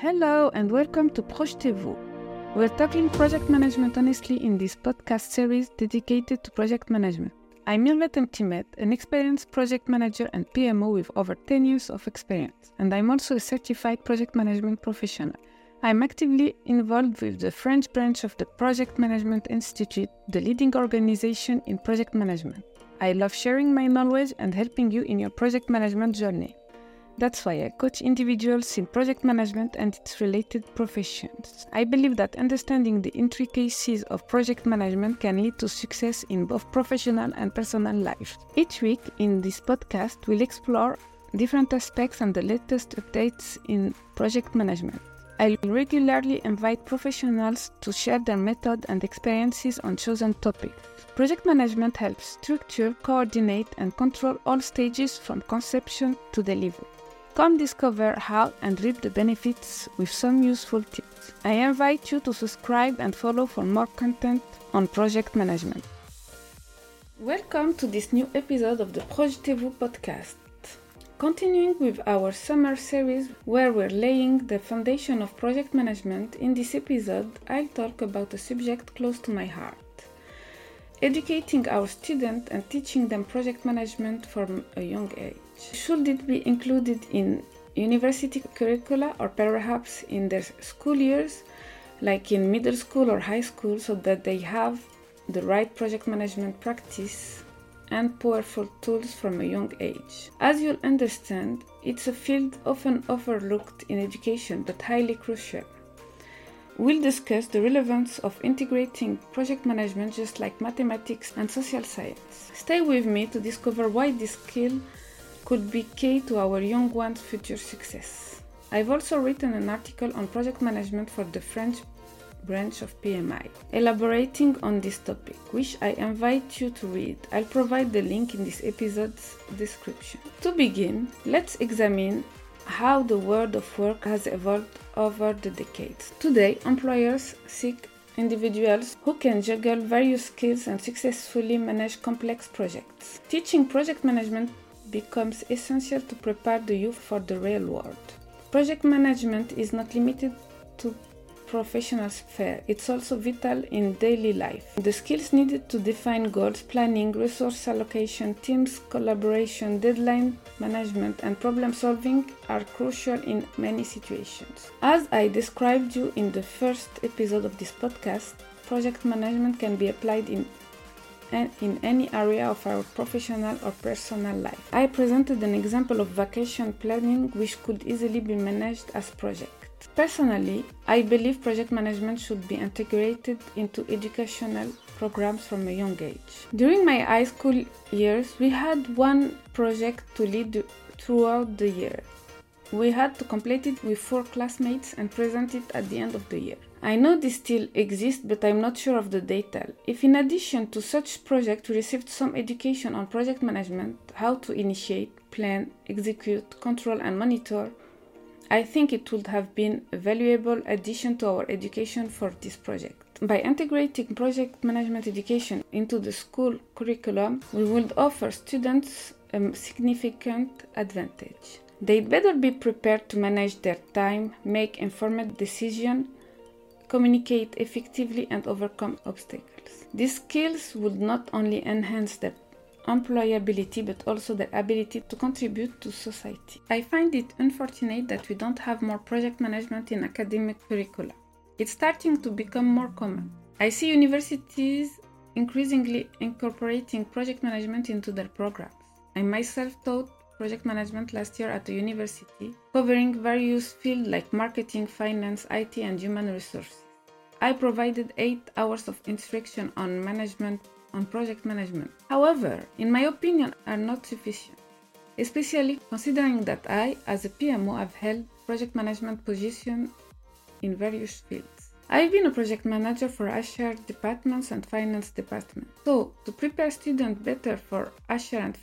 Hello and welcome to Projetez-vous. We're tackling project management honestly in this podcast series dedicated to project management. I'm Mirvet Mtimet, an experienced project manager and PMO with over 10 years of experience, and I'm also a certified project management professional. I'm actively involved with the French branch of the Project Management Institute, the leading organization in project management. I love sharing my knowledge and helping you in your project management journey. That's why I coach individuals in project management and its related professions. I believe that understanding the intricacies of project management can lead to success in both professional and personal life. Each week in this podcast, we'll explore different aspects and the latest updates in project management. I'll regularly invite professionals to share their method and experiences on chosen topics. Project management helps structure, coordinate, and control all stages from conception to delivery. Come discover how and reap the benefits with some useful tips. I invite you to subscribe and follow for more content on project management. Welcome to this new episode of the Projetez-vous podcast. Continuing with our summer series where we're laying the foundation of project management, in this episode I'll talk about a subject close to my heart. Educating our students and teaching them project management from a young age. Should it be included in university curricula or perhaps in their school years, like in middle school or high school, so that they have the right project management practice and powerful tools from a young age? As you'll understand, it's a field often overlooked in education but highly crucial. We'll discuss the relevance of integrating project management just like mathematics and social science. Stay with me to discover why this skill could be key to our young ones' future success. I've also written an article on project management for the French branch of PMI, elaborating on this topic, which I invite you to read. I'll provide the link in this episode's description. To begin, let's examine how the world of work has evolved over the decades. Today, employers seek individuals who can juggle various skills and successfully manage complex projects. Teaching project management becomes essential to prepare the youth for the real world. Project management is not limited to professional sphere, it's also vital in daily life. The skills needed to define goals, planning, resource allocation, teams collaboration, deadline management, and problem solving are crucial in many situations. As I described you in the first episode of this podcast, project management can be applied in any area of our professional or personal life. I presented an example of vacation planning which could easily be managed as project. Personally, I believe project management should be integrated into educational programs from a young age. During my high school years, we had one project to lead throughout the year. We had to complete it with 4 classmates and present it at the end of the year. I know this still exists, but I'm not sure of the detail. If in addition to such project we received some education on project management, how to initiate, plan, execute, control and monitor, I think it would have been a valuable addition to our education for this project. By integrating project management education into the school curriculum, we would offer students a significant advantage. They'd better be prepared to manage their time, make informed decisions, communicate effectively and overcome obstacles. These skills would not only enhance their employability but also their ability to contribute to society. I find it unfortunate that we don't have more project management in academic curricula. It's starting to become more common. I see universities increasingly incorporating project management into their programs. I myself taught project management last year at a university, covering various fields like marketing, finance, IT, and human resources. I provided 8 hours of instruction on project management. However, in my opinion, are not sufficient, especially considering that I, as a PMO, have held project management positions in various fields. I've been a project manager for HR departments and finance departments. So, to prepare students better for HR and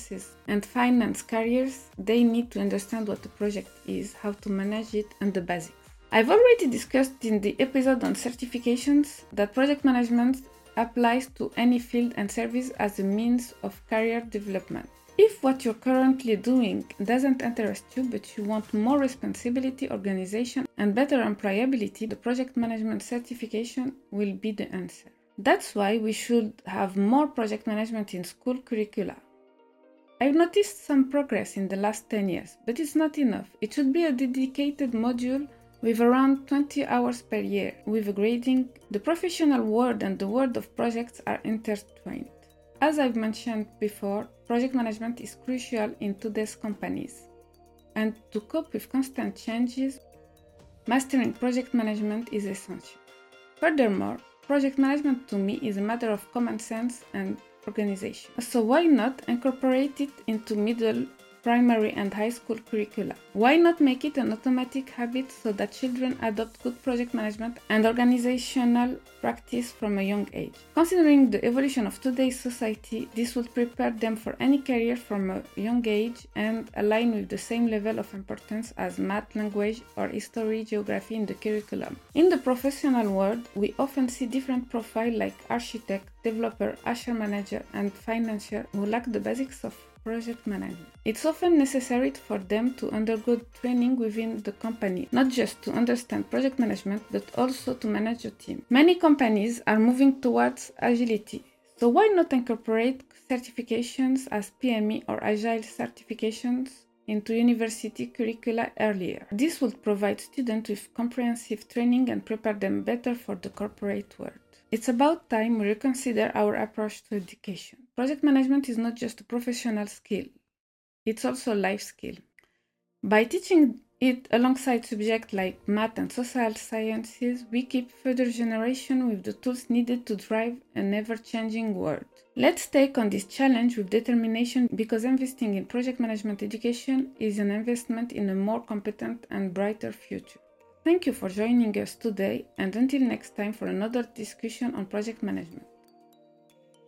finance careers, they need to understand what a project is, how to manage it, and the basics. I've already discussed in the episode on certifications that project management applies to any field and service as a means of career development. If what you're currently doing doesn't interest you, but you want more responsibility, organization, and better employability, the project management certification will be the answer. That's why we should have more project management in school curricula. I've noticed some progress in the last 10 years, but it's not enough. It should be a dedicated module with around 20 hours per year, with grading. The professional world and the world of projects are intertwined. As I've mentioned before, project management is crucial in today's companies. And to cope with constant changes, mastering project management is essential. Furthermore, project management to me is a matter of common sense and organization. So why not incorporate it into middle, primary and high school curricula? Why not make it an automatic habit so that children adopt good project management and organizational practice from a young age? Considering the evolution of today's society, this would prepare them for any career from a young age and align with the same level of importance as math, language, or history, geography in the curriculum. In the professional world, we often see different profiles like architect, developer, HR manager, and financier who lack the basics of project management. It's often necessary for them to undergo training within the company, not just to understand project management, but also to manage a team. Many companies are moving towards agility, so why not incorporate certifications as PME or Agile certifications into university curricula earlier? This would provide students with comprehensive training and prepare them better for the corporate world. It's about time we reconsider our approach to education. Project management is not just a professional skill, it's also a life skill. By teaching it alongside subjects like math and social sciences, we keep further generations with the tools needed to drive an ever-changing world. Let's take on this challenge with determination, because investing in project management education is an investment in a more competent and brighter future. Thank you for joining us today, and until next time for another discussion on project management.